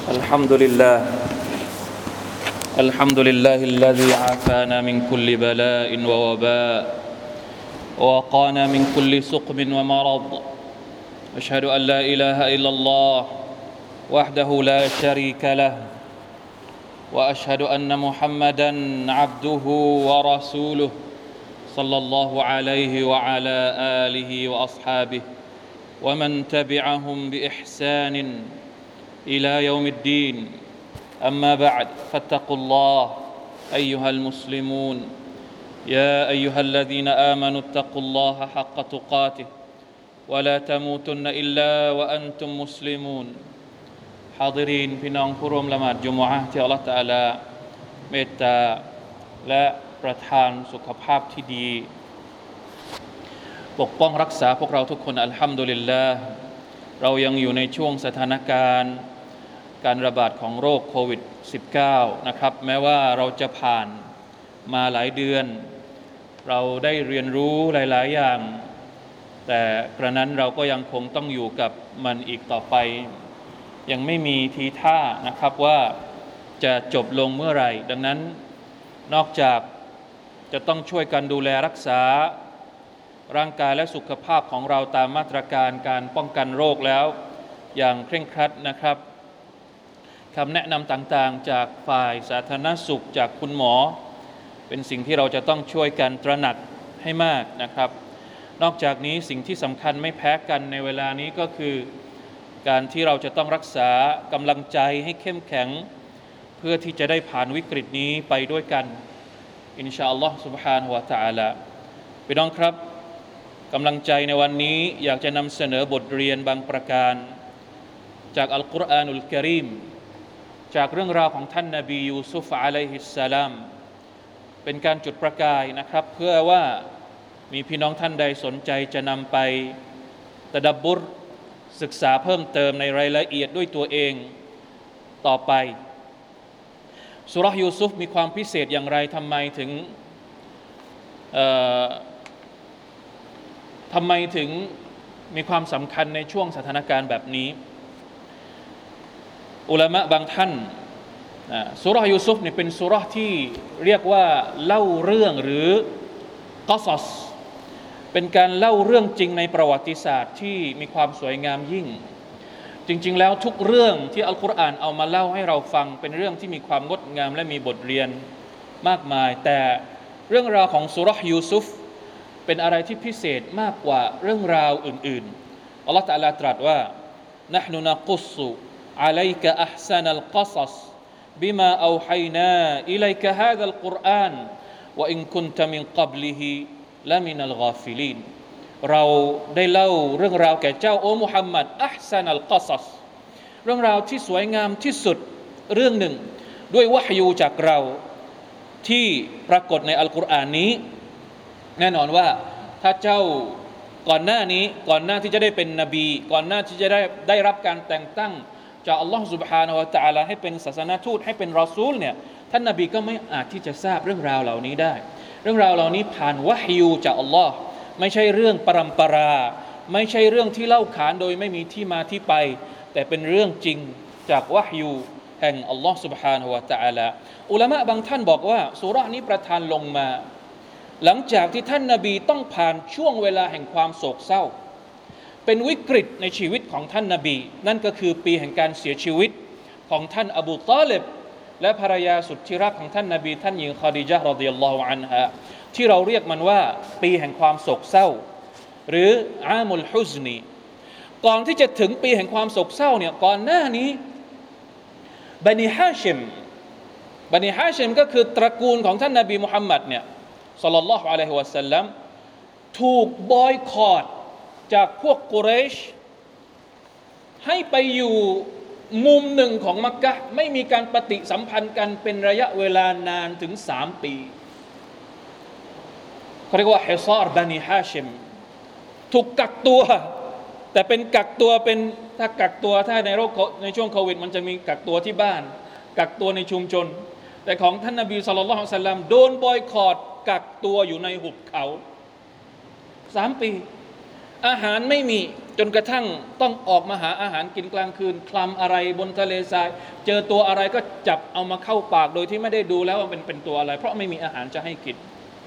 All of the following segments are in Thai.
الحمد لله الحمد لله الذي عافانا من كل بلاء ووباء ووقانا من كل سقم ومرض أشهد أن لا إله إلا الله وحده لا شريك له وأشهد أن محمدا عبده ورسوله صلى الله عليه وعلى آله وأصحابه ومن تبعهم بإحسان إلى يوم الدين أما بعد فاتقوا الله أيها المسلمون يا أيها الذين آمنوا اتقوا الله حق تقاته ولا تموتن إلا وأنتم مسلمون حاضرين พี่น้องผู้ร่วมละหมาดจุมอะห์ที่อัลเลาะห์ตะอาลาเมตตาและประทานสุขภาพที่ดีปกป้องรักษาพวกเราทุกคนอัลฮัมดุลิลลาห์เรายังอยู่ในช่วงสถานการณ์การระบาดของโรคโควิด -19 นะครับแม้ว่าเราจะผ่านมาหลายเดือนเราได้เรียนรู้หลายๆอย่างแต่กระนั้นเราก็ยังคงต้องอยู่กับมันอีกต่อไปยังไม่มีทีท่านะครับว่าจะจบลงเมื่อไหร่ดังนั้นนอกจากจะต้องช่วยกันดูแลรักษาร่างกายและสุขภาพของเราตามมาตรการการป้องกันโรคแล้วอย่างเคร่งครัดนะครับคำแนะนำต่างๆจากฝ่ายสาธารณสุขจากคุณหมอเป็นสิ่งที่เราจะต้องช่วยกันตระหนักให้มากนะครับนอกจากนี้สิ่งที่สำคัญไม่แพ้กันในเวลานี้ก็คือการที่เราจะต้องรักษากำลังใจให้เข้มแข็งเพื่อที่จะได้ผ่านวิกฤตนี้ไปด้วยกันอินชาอัลลอฮ์ سبحانه และ تعالى พี่น้องครับกำลังใจในวันนี้อยากจะนำเสนอบทเรียนบางประการจากอัลกุรอานุลกะรีมจากเรื่องราวของท่านนบียูซุฟอะลัยฮิสสลามเป็นการจุดประกายนะครับเพื่อว่ามีพี่น้องท่านใดสนใจจะนำไปตะดับบุรศึกษาเพิ่มเติมในรายละเอียดด้วยตัวเองต่อไปซูเราะห์ยูซุฟมีความพิเศษอย่างไรทำไมถึงมีความสำคัญในช่วงสถานการณ์แบบนี้อุลามะบางท่านซูเราะห์ยูซุฟเนี่ยเป็นซูเราะห์ที่เรียกว่าเล่าเรื่องหรือกอซอสเป็นการเล่าเรื่องจริงในประวัติศาสตร์ที่มีความสวยงามยิ่งจริงๆแล้วทุกเรื่องที่อัลกุรอานเอามาเล่าให้เราฟังเป็นเรื่องที่มีความงดงามและมีบทเรียนมากมายแต่เรื่องราวของซูเราะห์ยูซุฟเป็นอะไรที่พิเศษมากกว่าเรื่องราวอื่นๆอัลเลาะห์ตะอาลาตรัสว่านะห์นุนะกุศซุอะลัยกะอัห์ซะนัลกอศอศบิมาเอาฮัยนาอิลัยกะฮาซัลกุรอานวะอินกุนตะมินกับลิฮิละมินัลกอฟิลีนเราได้เล่าเรื่องราวแก่เจ้าโอ้มุฮัมมัดอัห์ซะนัลกอศอศเรื่องราวที่สวยงามที่สุดเรื่องหนึ่งด้วยวะฮยูจากเราที่ปรากฏในอัลกุรอานนี้แน่นอนว่าถ้าเจ้าก่อนหน้าที่จะได้เป็นนบีก่อนหน้าที่จะได้รับการแต่งตั้งจากอัลลอฮฺ سبحانه และ تعالى ให้เป็นศาสนทูตให้เป็นรอซูลเนี่ยท่านนบีก็ไม่อาจที่จะทราบเรื่องราวเหล่านี้ได้เรื่องราวเหล่านี้ผ่านวะฮยูจากอัลลอฮ์ไม่ใช่เรื่องปรัมปราไม่ใช่เรื่องที่เล่าขานโดยไม่มีที่มาที่ไปแต่เป็นเรื่องจริงจากวะฮยูแห่งอัลลอฮ์ سبحانه และ تعالى อุลามะบางท่านบอกว่าซูเราะห์นี้ประทานลงมาหลังจากที่ท่านนบีต้องผ่านช่วงเวลาแห่งความโศกเศร้าเป็นวิกฤตในชีวิตของท่านนบีนั่นก็คือปีแห่งการเสียชีวิตของท่านอบูฏอลิบและภรรยาสุดที่รักของท่านนบีท่านหญิงคอดีญะห์รอฎิยัลลอฮุอันฮาที่เราเรียกมันว่าปีแห่งความโศกเศร้าหรืออามุลฮุซนีก่อนที่จะถึงปีแห่งความโศกเศร้าเนี่ยก่อนหน้านี้บันิฮาชิมก็คือตระกูลของท่านนบีมุฮัมมัดเนี่ยศ็อลลัลลอฮุอะลัยฮิวะซัลลัมถูกบอยคอตจากพวกกุเรชให้ไปอยู่มุมหนึ่งของมักกะฮ์ไม่มีการปฏิสัมพันธ์กันเป็นระยะเวลานานถึง3 ปีเขาเรียกว่าฮิซาร์บันิฮาชิมถูกกักตัวแต่เป็นกักตัวเป็นถ้ากักตัวถ้าในช่วงโควิดมันจะมีกักตัวที่บ้านกักตัวในชุมชนแต่ของท่านนบีศ็อลลัลลอฮุอะลัยฮิวะซัลลัมโดนบอยคอตกักตัวอยู่ในหุบเขา3 ปีอาหารไม่มีจนกระทั่งต้องออกมาหาอาหารกินกลางคืนคลำอะไรบนทะเลทรายเจอตัวอะไรก็จับเอามาเข้าปากโดยที่ไม่ได้ดูแล้วว่าเป็นตัวอะไรเพราะไม่มีอาหารจะให้กิน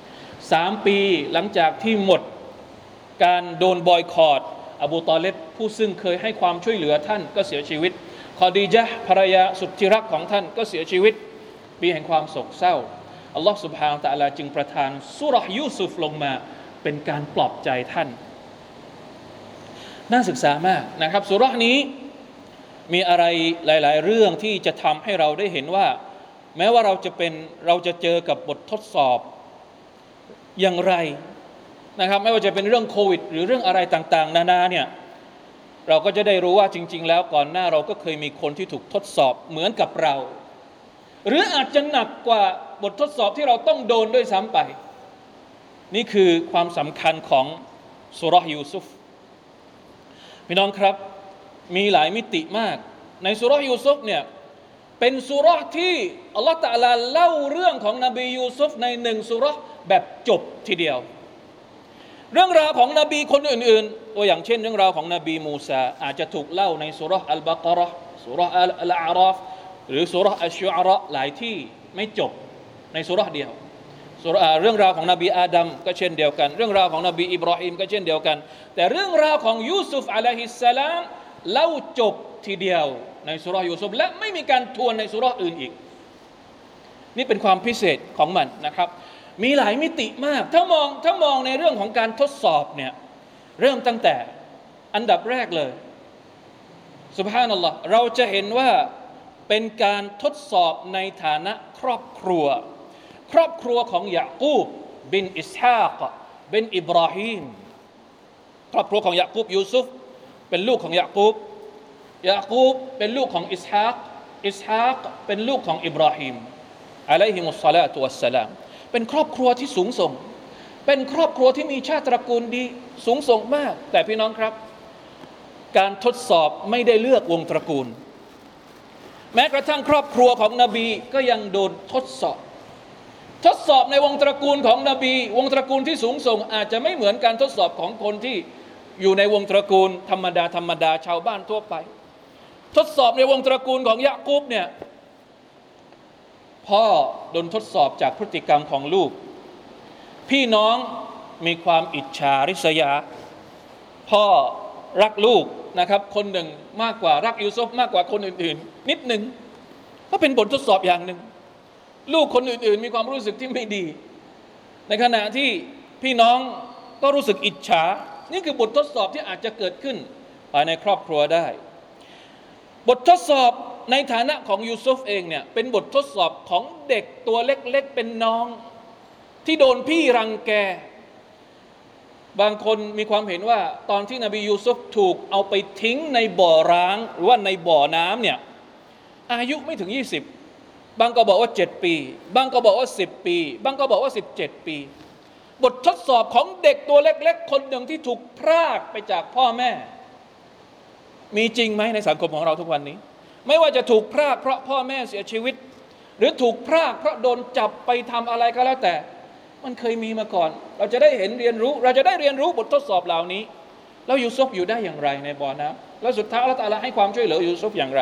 3 ปีหลังจากที่หมดการโดนบอยคอตอบูตอเลบผู้ซึ่งเคยให้ความช่วยเหลือท่านก็เสียชีวิตคอดีญะห์ภรรยาสุดที่รักของท่านก็เสียชีวิตปีแห่งความโศกเศร้าอัลลอฮฺ سبحانه และ تعالى จึงประทานซูเราะห์ยูซุฟลงมาเป็นการปลอบใจท่านน่าศึกษามากนะครับซูเราะห์นี้มีอะไรหลายๆเรื่องที่จะทำให้เราได้เห็นว่าแม้ว่าเราจะเจอกับบททดสอบอย่างไรนะครับไม่ว่าจะเป็นเรื่องโควิดหรือเรื่องอะไรต่างๆนานาเนี่ยเราก็จะได้รู้ว่าจริงๆแล้วก่อนหน้าเราก็เคยมีคนที่ถูกทดสอบเหมือนกับเราหรืออาจจะหนักกว่าบททดสอบที่เราต้องโดนด้วยซ้ำไปนี่คือความสำคัญของซูเราะห์ยูซุฟพี่น้องครับมีหลายมิติมากในซูเราะห์ยูซุฟเนี่ยเป็นซูเราะห์ที่อัลลอฮฺตะอาลาเล่าเรื่องของนบียูซุฟใน1ซูเราะห์แบบจบทีเดียวเรื่องราวของนบีคนอื่นๆตัวอย่างเช่นเรื่องราวของนบีมูซาอาจจะถูกเล่าในซูเราะห์อัลบะเกาะเราะห์ซูเราะห์อัลอาราฟหรือซูเราะห์อัชชุอาเราะห์หลายที่ไม่จบในซูเราะห์เดียวเรื่องราวของนบีอาดัมก็เช่นเดียวกันเรื่องราวของนบีอิบราฮิมก็เช่นเดียวกันแต่เรื่องราวของยูซุฟอะลัยฮิสสลามเล่าจบทีเดียวในซูเราะห์ยูซุฟและไม่มีการทวนในซูเราะห์อื่นอีกนี่เป็นความพิเศษของมันนะครับมีหลายมิติมากถ้ามองในเรื่องของการทดสอบเนี่ยเริ่มตั้งแต่อันดับแรกเลยซุบฮานัลลอฮ์เราจะเห็นว่าเป็นการทดสอบในฐานะครอบครัวของยะกูบบินอิสฮากบินอิบราฮิมครอบครัวของยะกูบยูซุฟเป็นลูกของยะกูบเป็นลูกของอิสฮากเป็นลูกของอิบราฮิมอะลัยฮิมุสศอลาตุวัสสลามเป็นครอบครัวที่สูงส่งเป็นครอบครัวที่มีชาติตระกูลดีสูงส่งมากแต่พี่น้องครับการทดสอบไม่ได้เลือกวงตระกูลแม้กระทั่งครอบครัวของนบีก็ยังโดนทดสอบในวงตระกูลของนบีวงตระกูลที่สูงส่งอาจจะไม่เหมือนการทดสอบของคนที่อยู่ในวงตระกูลธรรมดาชาวบ้านทั่วไปทดสอบในวงตระกูลของยะกูบเนี่ยพ่อโดนทดสอบจากพฤติกรรมของลูกพี่น้องมีความอิจฉาริษยาพ่อรักลูกนะครับคนหนึ่งมากกว่ารักยูซุฟมากกว่าคนอื่นๆนิดหนึ่งก็เป็นบททดสอบอย่างหนึ่งลูกคนอื่นๆมีความรู้สึกที่ไม่ดีในขณะที่พี่น้องก็รู้สึกอิจฉานี่คือบททดสอบที่อาจจะเกิดขึ้นภายในครอบครัวได้บททดสอบในฐานะของยูซุฟเองเนี่ยเป็นบททดสอบของเด็กตัวเล็กๆเป็นน้องที่โดนพี่รังแกบางคนมีความเห็นว่าตอนที่นบียูซุฟถูกเอาไปทิ้งในบ่อร้างหรือว่าในบ่อน้ำเนี่ยอายุไม่ถึง20บางก็บอกว่า7ปีบางก็บอกว่า10ปีบางก็บอกว่า17ปีบททดสอบของเด็กตัวเล็กๆคนหนึ่งที่ถูกพรากไปจากพ่อแม่มีจริงไหมในสังคมของเราทุกวันนี้ไม่ว่าจะถูกพรากเพราะพ่อแม่เสียชีวิตหรือถูกพรากเพราะโดนจับไปทำอะไรก็แล้วแต่มันเคยมีมาก่อนเราจะได้เรียนรู้บททดสอบเหล่านี้แล้วยูซุฟอยู่ได้อย่างไรในบ่อน้ำแล้วสุดท้ายอัลเลาะห์ตะอาลาให้ความช่วยเหลือยูซุฟอย่างไร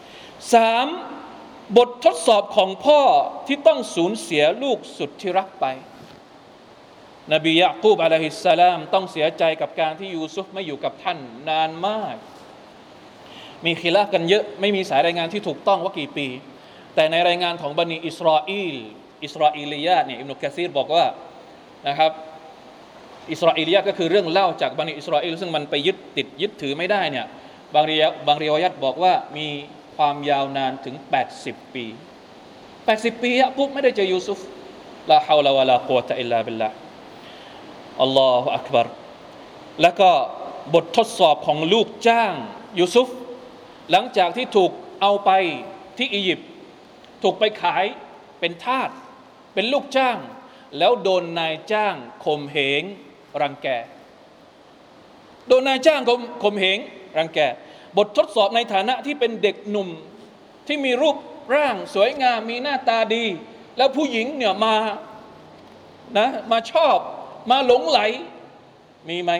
3บททดสอบของพ่อที่ต้องสูญเสียลูกสุดที่รักไปนบียะกูบอะลัยฮิสสลามต้องเสียใจกับการที่ยูซุฟไม่อยู่กับท่านนานมากมีคิลาฟกันเยอะไม่มีสายรายงานที่ถูกต้องว่ากี่ปีแต่ในรายงานของบันิอิสราอีลียะห์เนี่ยอิบนุกะซีรบอกว่านะครับอิสราอีลียะห์ก็คือเรื่องเล่าจากบันิอิสราเอลซึ่งมันไปยึดถือไม่ได้เนี่ยบางริวายัตบอกว่ามีความยาวนานถึง80ปี80ปียะกุบไม่ได้เจอยูซุฟลาฮาวลาวะลากุวะตะอิลลาบิลลาห์อัลลอฮุอักบัรแล้วก็บททดสอบของลูกจ้างยูซุฟหลังจากที่ถูกเอาไปที่อียิปต์ถูกไปขายเป็นทาสเป็นลูกจ้างแล้วโดนนายจ้างข่มเหงรังแกโดนนายจ้างข่มเหงรังแกบททดสอบในฐานะที่เป็นเด็กหนุ่มที่มีรูปร่างสวยงามมีหน้าตาดีแล้วผู้หญิงเนี่ยมาชอบมาหลงไหลมีไหม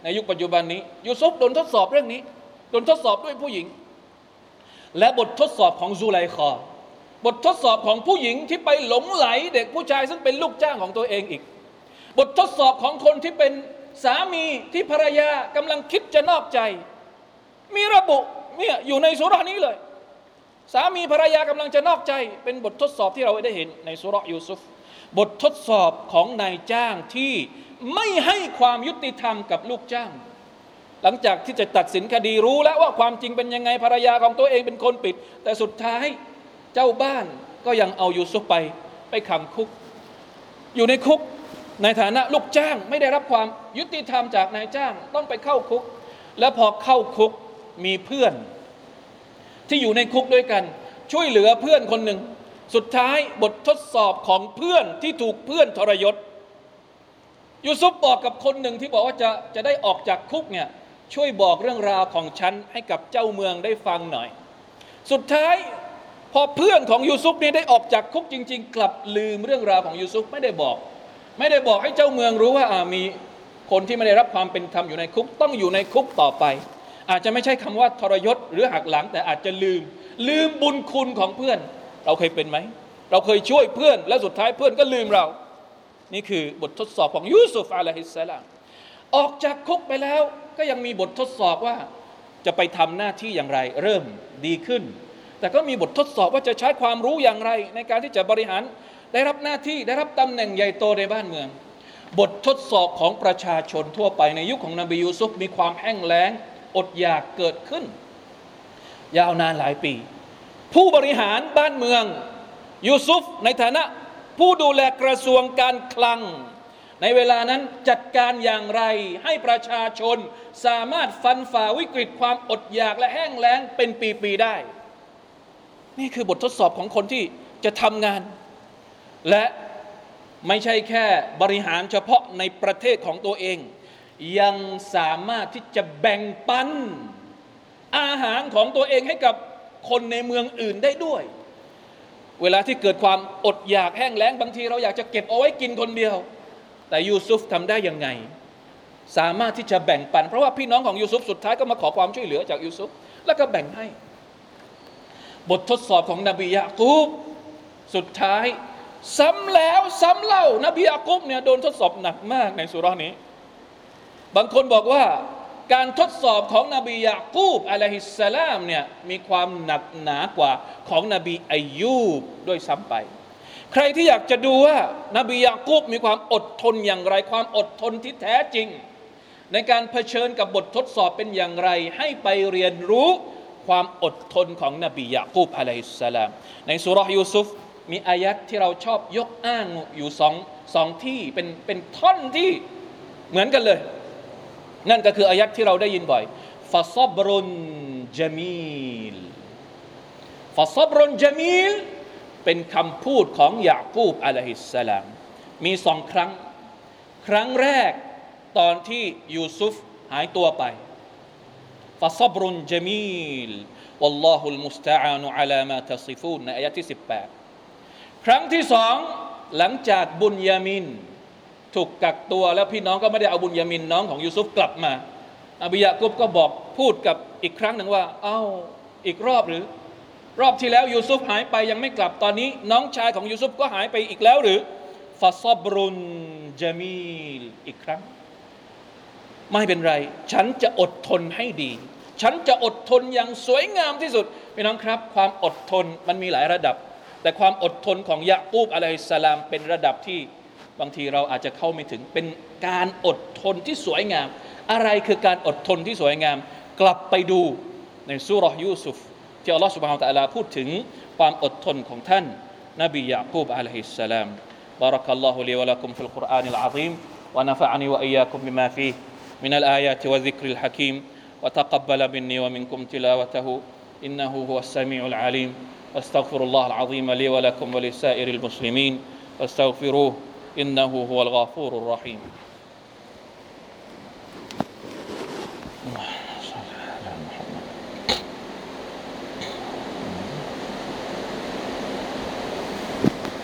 ในยุคปัจจุบันนี้ยูซุฟโดนทดสอบเรื่องนี้โดนทดสอบด้วยผู้หญิงและบททดสอบของซูไลคอบททดสอบของผู้หญิงที่ไปหลงไหลเด็กผู้ชายซึ่งเป็นลูกจ้างของตัวเองอีกบททดสอบของคนที่เป็นสามีที่ภรรยากำลังคิดจะนอกใจมีระบุเนี่ยอยู่ในซูเราะห์นี้เลยสามีภรรยากำลังจะนอกใจเป็นบททดสอบที่เราได้เห็นในซูเราะห์ยูซุฟบททดสอบของนายจ้างที่ไม่ให้ความยุติธรรมกับลูกจ้างหลังจากที่จะตัดสินคดีรู้แล้วว่าความจริงเป็นยังไงภรรยาของตัวเองเป็นคนผิดแต่สุดท้ายเจ้าบ้านก็ยังเอายูซุฟไปขังคุกอยู่ในคุกในฐานะลูกจ้างไม่ได้รับความยุติธรรมจากนายจ้างต้องไปเข้าคุกแล้วพอเข้าคุกมีเพื่อนที่อยู่ในคุกด้วยกันช่วยเหลือเพื่อนคนหนึ่งสุดท้ายบททดสอบของเพื่อนที่ถูกเพื่อนทรยศยูซุฟบอกกับคนหนึ่งที่บอกว่าจะได้ออกจากคุกเนี่ยช่วยบอกเรื่องราวของฉันให้กับเจ้าเมืองได้ฟังหน่อยสุดท้ายพอเพื่อนของยูซุฟนี่ได้ออกจากคุกจริงๆกลับลืมเรื่องราวของยูซุฟไม่ได้บอกให้เจ้าเมืองรู้ว่ามีคนที่ไม่ได้รับความเป็นธรรมอยู่ในคุกต้องอยู่ในคุกต่อไปอาจจะไม่ใช่คำว่าทรยศหรือหักหลังแต่อาจจะลืมบุญคุณของเพื่อนเราเคยเป็นไหมเราเคยช่วยเพื่อนแล้วสุดท้ายเพื่อนก็ลืมเรานี่คือบททดสอบของยูซุฟอะลัยฮิสสลามออกจากคุกไปแล้วก็ยังมีบททดสอบว่าจะไปทำหน้าที่อย่างไรเริ่มดีขึ้นแต่ก็มีบททดสอบว่าจะใช้ความรู้อย่างไรในการที่จะบริหารได้รับหน้าที่ได้รับตำแหน่งใหญ่โตในบ้านเมืองบททดสอบของประชาชนทั่วไปในยุคของนบียูซุฟมีความแห้งแล้งอดอยากเกิดขึ้นยาวนานหลายปีผู้บริหารบ้านเมืองยูซุฟในฐานะผู้ดูแลกระทรวงการคลังในเวลานั้นจัดการอย่างไรให้ประชาชนสามารถฟันฝ่าวิกฤตความอดอยากและแห้งแล้งเป็นปีๆได้นี่คือบททดสอบของคนที่จะทำงานและไม่ใช่แค่บริหารเฉพาะในประเทศของตัวเองยังสามารถที่จะแบ่งปันอาหารของตัวเองให้กับคนในเมืองอื่นได้ด้วยเวลาที่เกิดความอดอยากแห้งแล้งบางทีเราอยากจะเก็บเอาไว้กินคนเดียวแต่ยูซุฟทำได้ยังไงสามารถที่จะแบ่งปันเพราะว่าพี่น้องของยูซุฟสุดท้ายก็มาขอความช่วยเหลือจากยูซุฟแล้วก็แบ่งให้บททดสอบของนบียะกูบสุดท้ายซ้ำแล้วซ้ำเล่านบียะกูบเนี่ยโดนทดสอบหนักมากในสุเราะห์นี้บางคนบอกว่าการทดสอบของนบียะกูบอะลัยฮิสสลามเนี่ยมีความหนักหนากว่าของนบีอัยยูบด้วยซ้ำไปใครที่อยากจะดูว่านบียะกูบมีความอดทนอย่างไรความอดทนที่แท้จริงในการเผชิญกับบททดสอบเป็นอย่างไรให้ไปเรียนรู้ความอดทนของนบียะกูบอะลัยฮิสสลามในซูเราะห์ยูซุฟมีอายัดที่เราชอบยกอ้างอยู่สองที่เป็นท่อนที่เหมือนกันเลยนั่นก็คืออายัดที่เราได้ยินบ่อยฟะซอบรุนญะมีลฟะซอบรุนญะมีลเป็นคำพูดของยะกูบอะลัยฮิสสลามมีสองครั้งครั้งแรกตอนที่ยูซุฟหายตัวไปฟะซอบรุนญะมีลวัลลอฮุลมุสตะอานุอะลามาตัซิฟูนในอายะที่18ครั้งที่สองหลังจากบุญยามินถูกกักตัวแล้วพี่น้องก็ไม่ได้เอาบุญยามินน้องของยูซุฟกลับมาอบียะกุบก็บอกพูดกับอีกครั้งหนึ่งว่าอีกรอบหรือรอบที่แล้วยูซุฟหายไปยังไม่กลับตอนนี้น้องชายของยูซุฟก็หายไปอีกแล้วหรือฟะซอบรุนญะมีลอีกครั้งไม่เป็นไรฉันจะอดทนให้ดีฉันจะอดทนอย่างสวยงามที่สุดพี่น้องครับความอดทนมันมีหลายระดับแต่ความอดทนของยะกูบอะลัยฮิสสลามเป็นระดับที่บางทีเราอาจจะเข้าไม่ถึงเป็นการอดทนที่สวยงามอะไรคือการอดทนที่สวยงามกลับไปดูในซูเราะห์ยูซุฟที่อัลลอฮฺ سبحانه และ تعالى พูดถึงความอดทนของท่านนบียะกูบอะลัยฮิสสลาม بارك الله لي ولكم في القرآن العظيم ونفعني وإياكم بما فيه من الآيات والذكر الحكيم وتقبل مني ومنكم تلاوته إنه هو السميع العليم أستغفر الله العظيم لي ولكم ولسائر المسلمين فاستغفروه إنه هو الغفور الرحيم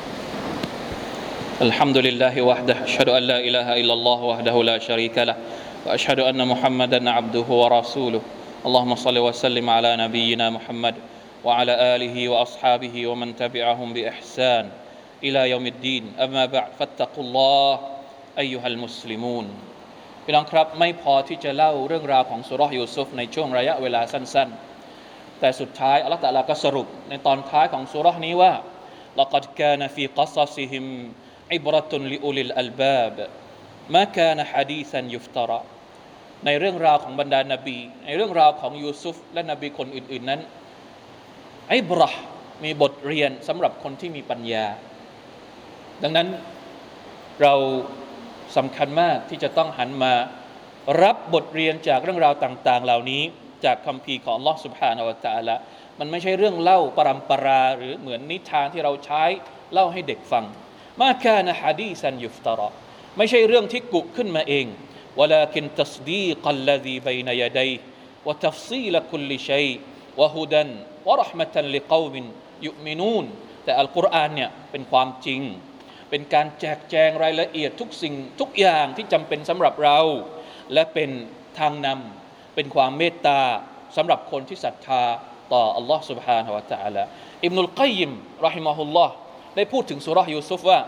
الحمد لله وحده أشهد أن لا إله إلا الله وحده لا شريك له وأشهد أن محمدا عبده ورسوله اللهم صل وسلم على نبينا محمد وعلى آله وأصحابه ومن تبعهم بإحسان إلى يوم الدين أما بعد فاتقوا الله أيها المسلمون พี่น้องครับไม่พอที่จะเล่าเรื่องราวของสุเราะห์ยูซุฟในช่วงระยะเวลาสั้นๆแต่สุดท้ายอัลเลาะห์ตะอาลาก็สรุปในตอนท้ายของสุเราะห์นี้ว่า لقد كان في قصصهم عبرة لأولي الألباب ما كان حديثا يفترى ในเรื่องราวของบรรดานบีในเรื่องราวของยูซุฟและนบีคนอื่นๆนั้นอิบเราะห์มีบทเรียนสำหรับคนที่มีปัญญาดังนั้นเราสำคัญมากที่จะต้องหันมารับบทเรียนจากเรื่องราวต่างๆเหล่านี้จากคัมภีร์ของอัลเลาะห์ سبحانه และ تعالى มันไม่ใช่เรื่องเล่าปรัมปราหรือเหมือนนิทานที่เราใช้เล่าให้เด็กฟังมาคานะฮะดีซันยุฟตารอไม่ใช่เรื่องที่กุขึ้นมาเองولكن تصديق الذي بين يديه وتفصيل كل شيء وهدى ورحمة لقوم يؤمنون แต่อัลกุรอานเนี่ยเป็นความจริงเป็นการแจกแจงรายละเอียดทุกสิ่งทุกอย่างที่จำเป็นสำหรับเราและเป็นทางนำเป็นความเมตตาสำหรับคนที่ศรัทธาต่ออัลลอฮ์ سبحانه และ تعالى อิบนุลกัยยิมเราะฮิมะฮุลลอฮ์ได้พูดถึงซูเราะห์ยูซุฟว่า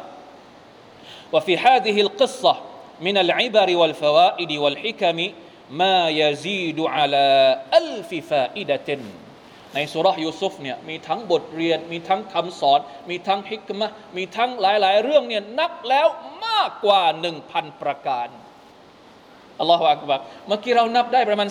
وفي هذه القصة من العبر والفوائد والحكم ما يزيد على ألف فائدة ในซูเราะห์ยูซุฟเนี่ยมีทั้งบทเรียนมีทั้งคำสอนมีทั้งฮิกมะห์มีทั้งหลายๆเรื่องเนี่ยนับแล้วมากกว่า 1,000 ประการอัลลอฮฺอักบัรเมื่อกี้เรานับได้ประมาณ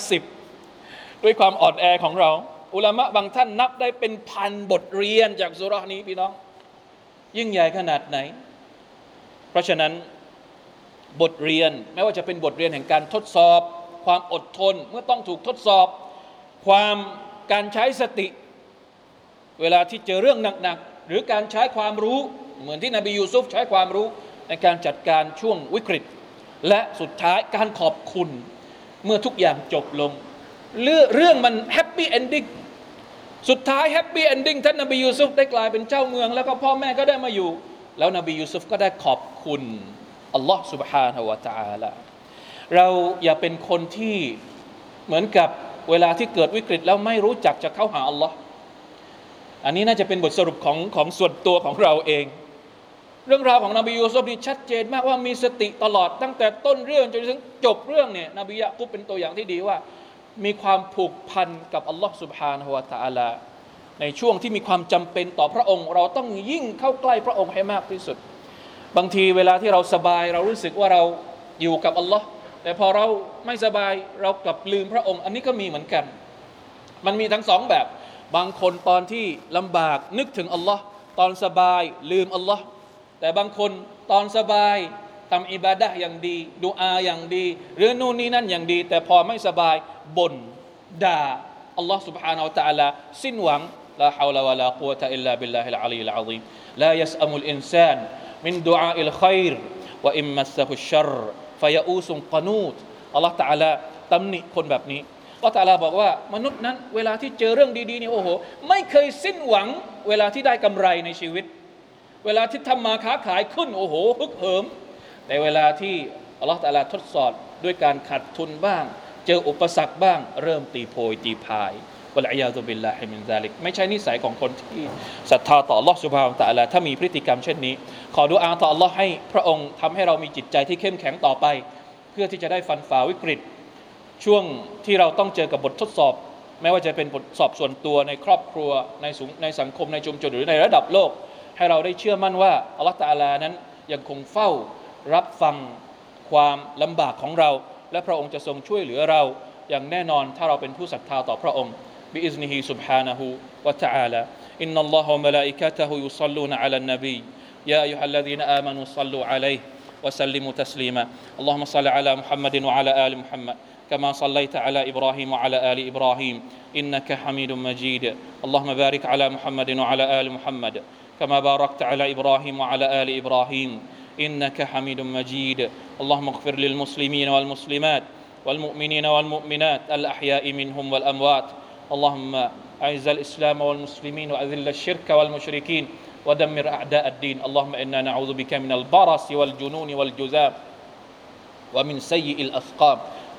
10ด้วยความอ่อนแอของเราอุลามะบางท่านนับได้เป็นพันบทเรียนจากซูเราะห์นี้พี่น้องยิ่งใหญ่ขนาดไหนเพราะฉะนั้นบทเรียนไม่ว่าจะเป็นบทเรียนแห่งการทดสอบความอดทนเมื่อต้องถูกทดสอบการใช้สติเวลาที่เจอเรื่องหนักๆหรือการใช้ความรู้เหมือนที่นบียูซุฟใช้ความรู้ในการจัดการช่วงวิกฤตและสุดท้ายการขอบคุณเมื่อทุกอย่างจบลงเรื่องมันแฮปปี้เอนดิ้งสุดท้ายแฮปปี้เอนดิ้งท่านนบียูซุฟได้กลายเป็นเจ้าเมืองแล้วก็พ่อแม่ก็ได้มาอยู่แล้วนบียูซุฟก็ได้ขอบคุณอัลลอฮ์ سبحانه และ تعالى เราอย่าเป็นคนที่เหมือนกับเวลาที่เกิดวิกฤตแล้วไม่รู้จักจะเข้าหาอัลลอฮ์อันนี้น่าจะเป็นบทสรุปของส่วนตัวของเราเองเรื่องราวของนบียูซุฟนี่ชัดเจนมากว่ามีสติตลอดตั้งแต่ต้นเรื่องจนถึงจบเรื่องเนี่ยนบียะกุบเป็นตัวอย่างที่ดีว่ามีความผูกพันกับอัลลอฮ์ سبحانه และ تعالى ในช่วงที่มีความจำเป็นต่อพระองค์เราต้องยิ่งเข้าใกล้พระองค์ให้มากที่สุดบางทีเวลาที่เราสบายเรารู้สึกว่าเราอยู่กับอัลลอฮ์แต่พอเราไม่สบายเรากลับลืมพระองค์อันนี้ก็มีเหมือนกันมันมีทั้งสองแบบบางคนตอนที่ลำบากนึกถึงอัลลอฮ์ตอนสบายลืมอัลลอฮ์แต่บางคนตอนสบายทำอิบาดะห์อย่างดีดุอาอย่างดีหรือนู่นนี่นั่นอย่างดีแต่พอไม่สบายบ่นด่าอัลลอฮ์ سبحانه และ تعالى สิ้นหวังลาฮาวละวะลากุวะตะอิลลาบิลลาฮิลอะลีลอะซีมลายัสอะมุลอินซานมินดุอาอิลค็อยรวะอิมมัสซะฮุชชัรฟะยะอูซุนกะนูตอัลลอฮ์ تعالى ตำหนิคนแบบนี้อัลลอฮ์ تعالى บอกว่ามนุษย์นั้นเวลาที่เจอเรื่องดีๆนี่โอ้โหไม่เคยสิ้นหวังเวลาที่ได้กำไรในชีวิตเวลาที่ทำมาค้าขายขึ้นโอ้โหฮึกเหิมแต่เวลาที่อัลลอฮ์ تعالى ทดสอบด้วยการขาดทุนบ้างเจออุปสรรคบ้างเริ่มตีโพยตีพายวะลัยยาซุบิลลาฮิมินซาลิกไม่ใช่นิสัยของคนที่ศรัทธาต่ออัลลอฮ์ซุบฮานะฮูวะตะอาลาถ้ามีพฤติกรรมเช่นนี้ขอดุอาต่ออัลลอฮ์ให้พระองค์ทำให้เรามีจิตใจที่เข้มแข็งต่อไปเพื่อที่จะได้ฟันฝ่าวิกฤตช่วงที่เราต้องเจอกับบททดสอบไม่ว่าจะเป็นบทสอบส่วนตัวในครอบครัวในสังคมในชุมชนหรือในระดับโลกให้เราได้เชื่อมั่นว่าอัลลอฮ์ตะอาลานั้นยังคงเฝ้ารับฟังความลำบากของเราและพระองค์จะทรงช่วยเหลือเราอย่างแน่นอนถ้าเราเป็นผู้ศรัทธาต่อพระองค์بإذنه سبحانه وتعالى إن الله وملائكته يصلون على النبي يا أيها الذين آمنوا صلوا عليه وسلموا تسليما اللهم صل على محمد وعلى آل محمد كما صليت على إبراهيم وعلى آل إبراهيم إنك حميد مجيد اللهم بارك على محمد وعلى آل محمد كما باركت على إبراهيم وعلى آل إبراهيم إنك حميد مجيد اللهم اغفر للمسلمين والمسلمات والمؤمنين والمؤمنات الأحياء منهم والأموات اللهم أعز الإسلام والمسلمين وأذل الشرك والمشركين ودمر أعداء الدين اللهم إنا نعوذ بك من البرص والجنون والجذام ومن سيء الأسقام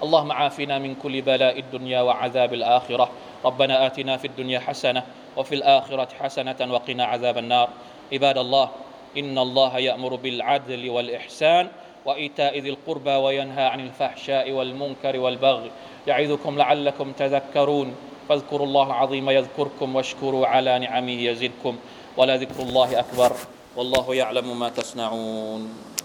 اللهم عافنا من كل بلاء الدنيا وعذاب الآخرة ربنا آتنا في الدنيا حسنة وفي الآخرة حسنة وقنا عذاب النار عباد الله إن الله يأمر بالعدل والإحسان وإيتاء ذي القربى وينهى عن الفحشاء والمنكر والبغي يعظكم لعلكم تذكرون فاذكروا الله العظيم يذكركم واشكروا على نعمه يزدكم ولذكر الله أكبر والله يعلم ما تصنعون